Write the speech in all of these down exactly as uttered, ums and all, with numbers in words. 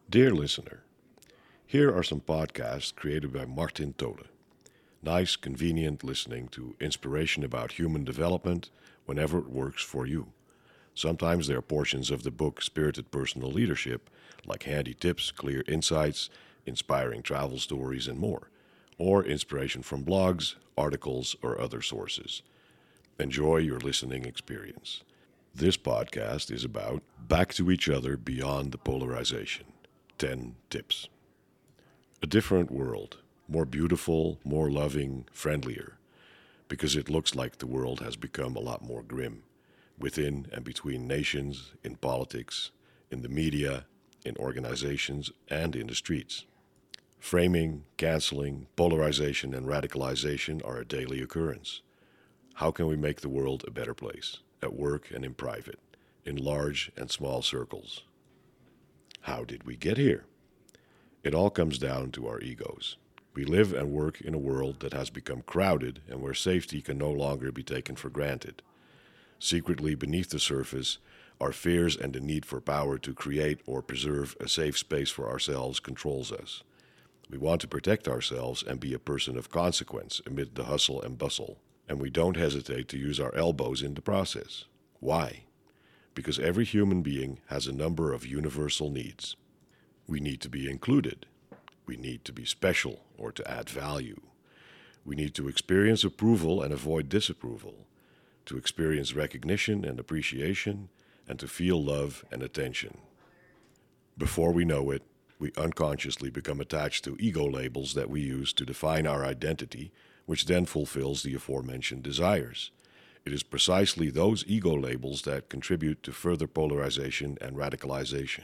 Dear listener, here are some podcasts created by Martin Tole. Nice, convenient listening to inspiration about human development whenever it works for you. Sometimes there are portions of the book Spirited Personal Leadership, like handy tips, clear insights, inspiring travel stories, and more, or inspiration from blogs, articles, or other sources. Enjoy your listening experience. This podcast is about back to each other beyond the polarization. ten tips. A different world, more beautiful, more loving, friendlier, because it looks like the world has become a lot more grim, within and between nations, in politics, in the media, in organizations, and in the streets. Framing, canceling, polarization, and radicalization are a daily occurrence. How can we make the world a better place, at work and in private, in large and small circles? How did we get here? It all comes down to our egos. We live and work in a world that has become crowded and where safety can no longer be taken for granted. Secretly beneath the surface, our fears and the need for power to create or preserve a safe space for ourselves controls us. We want to protect ourselves and be a person of consequence amid the hustle and bustle, and we don't hesitate to use our elbows in the process. Why? Because every human being has a number of universal needs. We need to be included. We need to be special or to add value. We need to experience approval and avoid disapproval, to experience recognition and appreciation, and to feel love and attention. Before we know it, we unconsciously become attached to ego labels that we use to define our identity, which then fulfills the aforementioned desires. It is precisely those ego labels that contribute to further polarization and radicalization.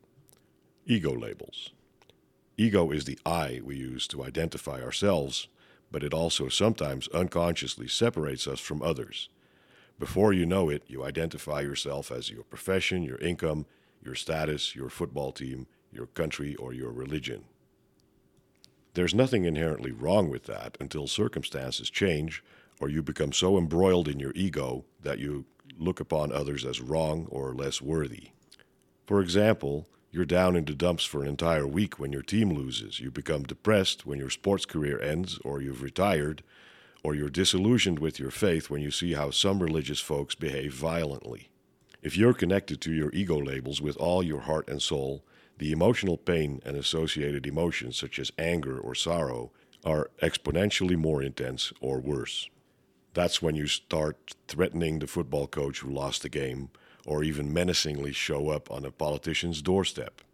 Ego labels. Ego is the I we use to identify ourselves, but it also sometimes unconsciously separates us from others. Before you know it, you identify yourself as your profession, your income, your status, your football team, your country, or your religion. There's nothing inherently wrong with that until circumstances change or you become so embroiled in your ego that you look upon others as wrong or less worthy. For example, you're down in the dumps for an entire week when your team loses. You become depressed when your sports career ends or you've retired, or you're disillusioned with your faith when you see how some religious folks behave violently. If you're connected to your ego labels with all your heart and soul, the emotional pain and associated emotions such as anger or sorrow are exponentially more intense or worse. That's when you start threatening the football coach who lost the game, or even menacingly show up on a politician's doorstep.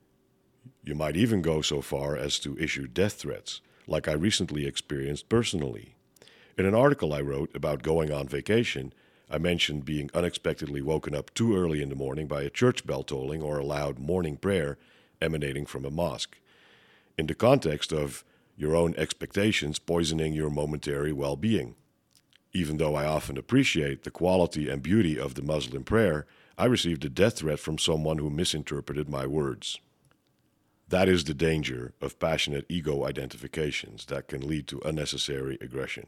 You might even go so far as to issue death threats, like I recently experienced personally. In an article I wrote about going on vacation, I mentioned being unexpectedly woken up too early in the morning by a church bell tolling or a loud morning prayer emanating from a mosque, in the context of your own expectations poisoning your momentary well-being. Even though I often appreciate the quality and beauty of the Muslim prayer, I received a death threat from someone who misinterpreted my words. That is the danger of passionate ego identifications that can lead to unnecessary aggression.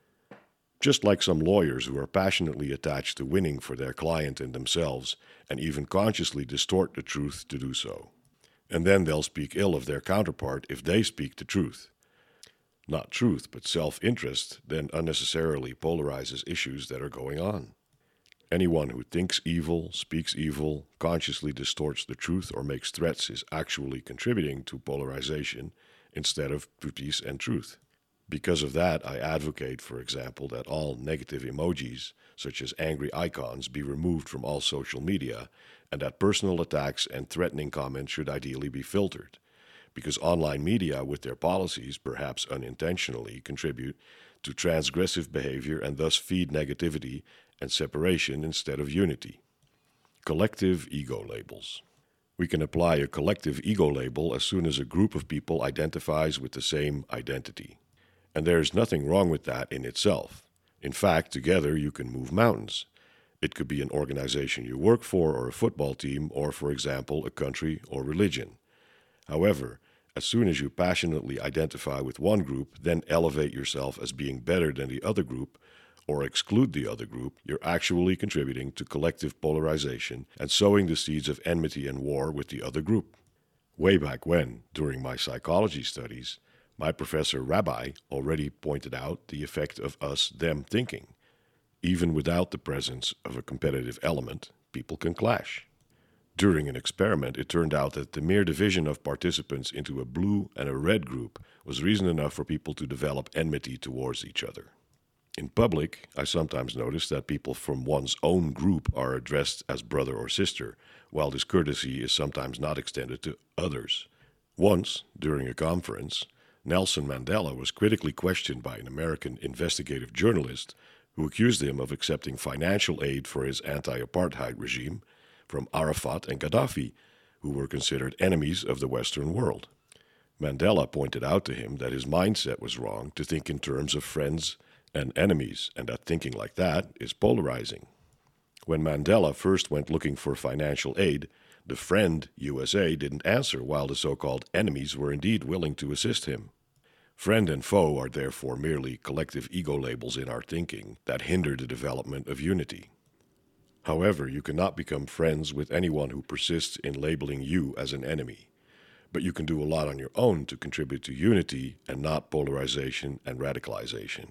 Just like some lawyers who are passionately attached to winning for their client and themselves, and even consciously distort the truth to do so. And then they'll speak ill of their counterpart if they speak the truth. Not truth, but self-interest then unnecessarily polarizes issues that are going on. Anyone who thinks evil, speaks evil, consciously distorts the truth, or makes threats is actually contributing to polarization instead of to peace and truth. Because of that, I advocate, for example, that all negative emojis, such as angry icons, be removed from all social media, and that personal attacks and threatening comments should ideally be filtered. Because online media, with their policies, perhaps unintentionally, contribute to transgressive behavior and thus feed negativity and separation instead of unity. Collective ego labels. We can apply a collective ego label as soon as a group of people identifies with the same identity. And there is nothing wrong with that in itself. In fact, together you can move mountains. It could be an organization you work for, or a football team, or, for example, a country or religion. However, as soon as you passionately identify with one group, then elevate yourself as being better than the other group, or exclude the other group, you're actually contributing to collective polarization and sowing the seeds of enmity and war with the other group. Way back when, during my psychology studies, my professor Rabbi already pointed out the effect of us-them thinking. Even without the presence of a competitive element, people can clash. During an experiment, it turned out that the mere division of participants into a blue and a red group was reason enough for people to develop enmity towards each other. In public, I sometimes notice that people from one's own group are addressed as brother or sister, while this courtesy is sometimes not extended to others. Once, during a conference, Nelson Mandela was critically questioned by an American investigative journalist who accused him of accepting financial aid for his anti-apartheid regime from Arafat and Gaddafi, who were considered enemies of the Western world. Mandela pointed out to him that his mindset was wrong to think in terms of friends and enemies, and that thinking like that is polarizing. When Mandela first went looking for financial aid, the friend U S A didn't answer, while the so-called enemies were indeed willing to assist him. Friend and foe are therefore merely collective ego labels in our thinking that hinder the development of unity. However, you cannot become friends with anyone who persists in labeling you as an enemy, but you can do a lot on your own to contribute to unity and not polarization and radicalization.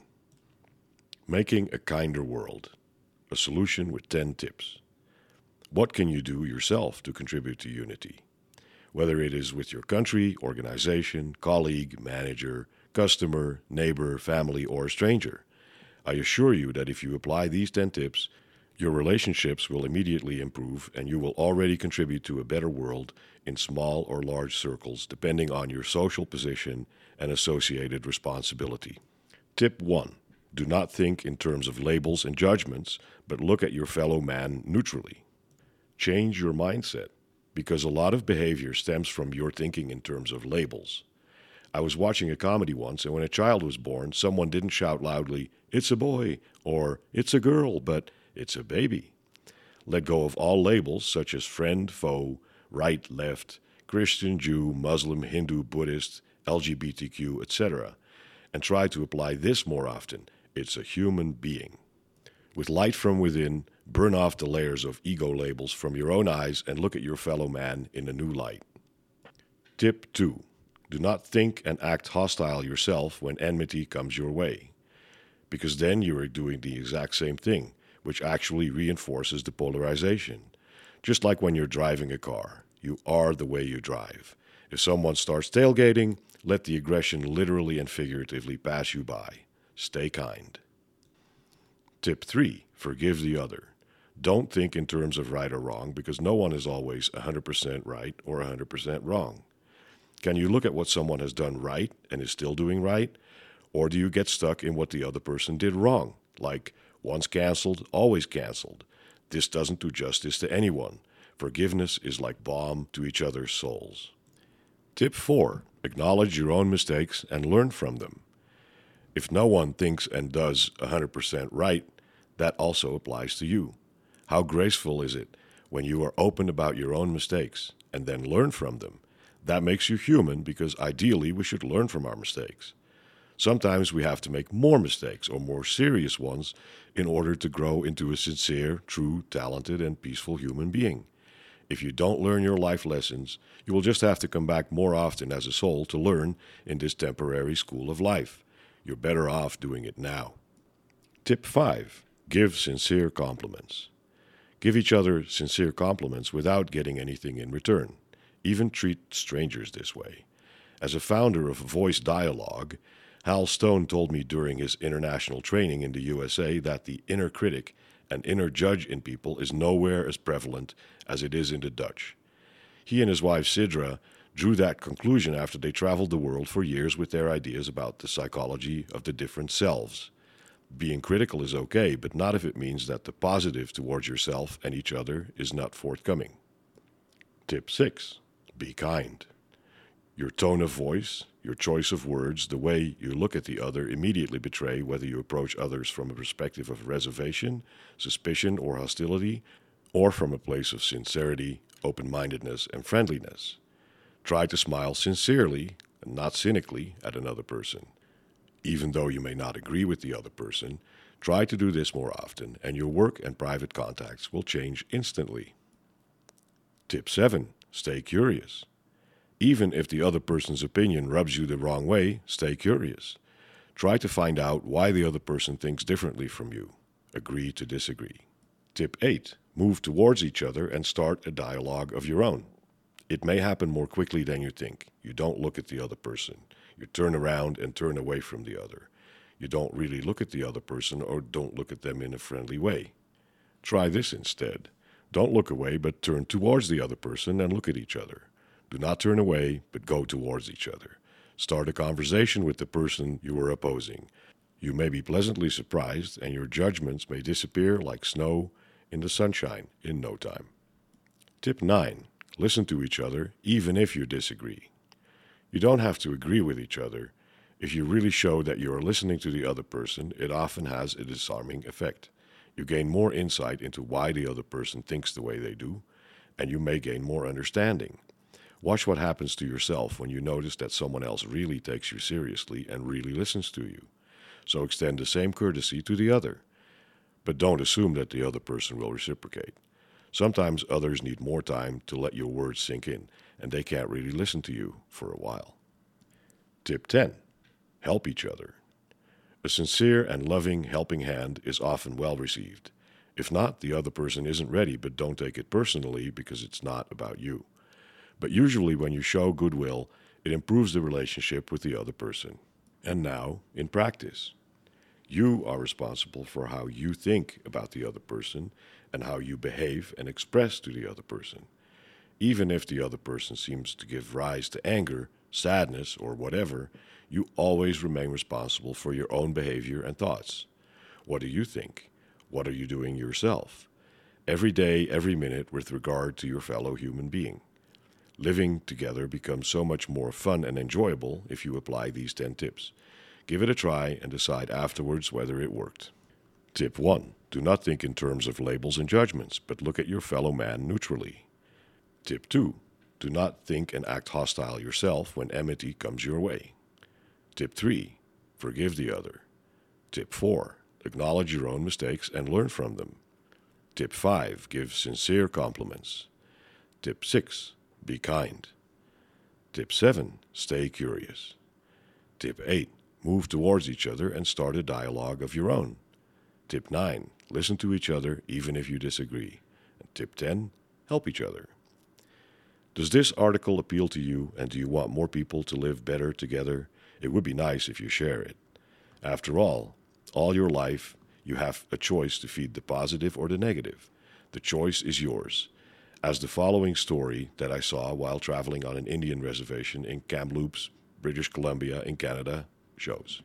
Making a kinder world. A solution with ten tips. What can you do yourself to contribute to unity? Whether it is with your country, organization, colleague, manager, customer, neighbor, family, or a stranger. I assure you that if you apply these ten tips, your relationships will immediately improve and you will already contribute to a better world in small or large circles depending on your social position and associated responsibility. Tip one. Do not think in terms of labels and judgments, but look at your fellow man neutrally. Change your mindset, because a lot of behavior stems from your thinking in terms of labels. I was watching a comedy once, and when a child was born, someone didn't shout loudly, "It's a boy," or "It's a girl," but "It's a baby." Let go of all labels such as friend, foe, right, left, Christian, Jew, Muslim, Hindu, Buddhist, L G B T Q, et cetera, and try to apply this more often. It's a human being. With light from within, burn off the layers of ego labels from your own eyes and look at your fellow man in a new light. Tip two. Do not think and act hostile yourself when enmity comes your way, because then you are doing the exact same thing, which actually reinforces the polarization. Just like when you're driving a car, you are the way you drive. If someone starts tailgating, let the aggression literally and figuratively pass you by. Stay kind. Tip three. Forgive the other. Don't think in terms of right or wrong, because no one is always one hundred percent right or one hundred percent wrong. Can you look at what someone has done right and is still doing right? Or do you get stuck in what the other person did wrong? Like, once canceled, always canceled. This doesn't do justice to anyone. Forgiveness is like balm to each other's souls. Tip four. Acknowledge your own mistakes and learn from them. If no one thinks and does one hundred percent right, that also applies to you. How graceful is it when you are open about your own mistakes and then learn from them? That makes you human, because ideally we should learn from our mistakes. Sometimes we have to make more mistakes or more serious ones in order to grow into a sincere, true, talented, and peaceful human being. If you don't learn your life lessons, you will just have to come back more often as a soul to learn in this temporary school of life. You're better off doing it now. Tip five. Give sincere compliments. Give each other sincere compliments without getting anything in return. Even treat strangers this way. As a founder of Voice Dialogue, Hal Stone told me during his international training in the U S A that the inner critic and inner judge in people is nowhere as prevalent as it is in the Dutch. He and his wife Sidra drew that conclusion after they traveled the world for years with their ideas about the psychology of the different selves. Being critical is okay, but not if it means that the positive towards yourself and each other is not forthcoming. Tip six. Be kind. Your tone of voice, your choice of words, the way you look at the other immediately betray whether you approach others from a perspective of reservation, suspicion, or hostility, or from a place of sincerity, open-mindedness, and friendliness. Try to smile sincerely and not cynically at another person. Even though you may not agree with the other person, try to do this more often, and your work and private contacts will change instantly. Tip seven. Stay curious. Even if the other person's opinion rubs you the wrong way, stay curious. Try to find out why the other person thinks differently from you. Agree to disagree. Tip eight. Move towards each other and start a dialogue of your own. It may happen more quickly than you think. You don't look at the other person. You turn around and turn away from the other. You don't really look at the other person or don't look at them in a friendly way. Try this instead. Don't look away, but turn towards the other person and look at each other. Do not turn away, but go towards each other. Start a conversation with the person you are opposing. You may be pleasantly surprised, and your judgments may disappear like snow in the sunshine in no time. Tip nine. Listen to each other, even if you disagree. You don't have to agree with each other. If you really show that you are listening to the other person, it often has a disarming effect. You gain more insight into why the other person thinks the way they do, and you may gain more understanding. Watch what happens to yourself when you notice that someone else really takes you seriously and really listens to you. So extend the same courtesy to the other. But don't assume that the other person will reciprocate. Sometimes others need more time to let your words sink in, and they can't really listen to you for a while. Tip ten. Help each other. A sincere and loving helping hand is often well received. If not, the other person isn't ready, but don't take it personally because it's not about you. But usually when you show goodwill, it improves the relationship with the other person. And now, in practice. You are responsible for how you think about the other person and how you behave and express to the other person. Even if the other person seems to give rise to anger, sadness, or whatever, you always remain responsible for your own behavior and thoughts. What do you think? What are you doing yourself? Every day, every minute with regard to your fellow human being. Living together becomes so much more fun and enjoyable if you apply these ten tips. Give it a try and decide afterwards whether it worked. Tip one. Do not think in terms of labels and judgments, but look at your fellow man neutrally. Tip two. Do not think and act hostile yourself when enmity comes your way. Tip three. Forgive the other. Tip four. Acknowledge your own mistakes and learn from them. Tip five. Give sincere compliments. Tip six. Be kind. Tip seven. Stay curious. Tip eight. Move towards each other and start a dialogue of your own. Tip nine. Listen to each other even if you disagree. And tip ten. Help each other. Does this article appeal to you, and do you want more people to live better together? It would be nice if you share it. After all, all your life you have a choice to feed the positive or the negative. The choice is yours. As the following story that I saw while traveling on an Indian reservation in Kamloops, British Columbia in Canada shows.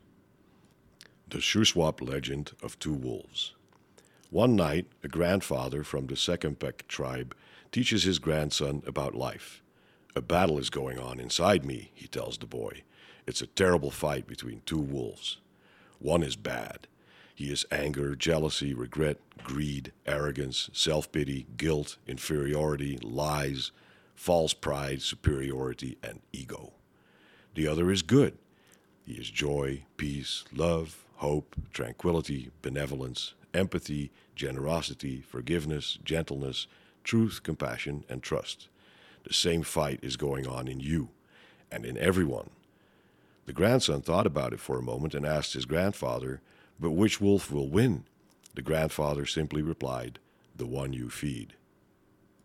The Shuswap legend of two wolves. One night, a grandfather from the Second-Peck tribe teaches his grandson about life. A battle is going on inside me, he tells the boy. It's a terrible fight between two wolves. One is bad. He is anger, jealousy, regret, greed, arrogance, self-pity, guilt, inferiority, lies, false pride, superiority, and ego. The other is good. He is joy, peace, love, hope, tranquility, benevolence, empathy, generosity, forgiveness, gentleness, truth, compassion, and trust. The same fight is going on in you and in everyone. The grandson thought about it for a moment and asked his grandfather, "But which wolf will win?" The grandfather simply replied, "The one you feed."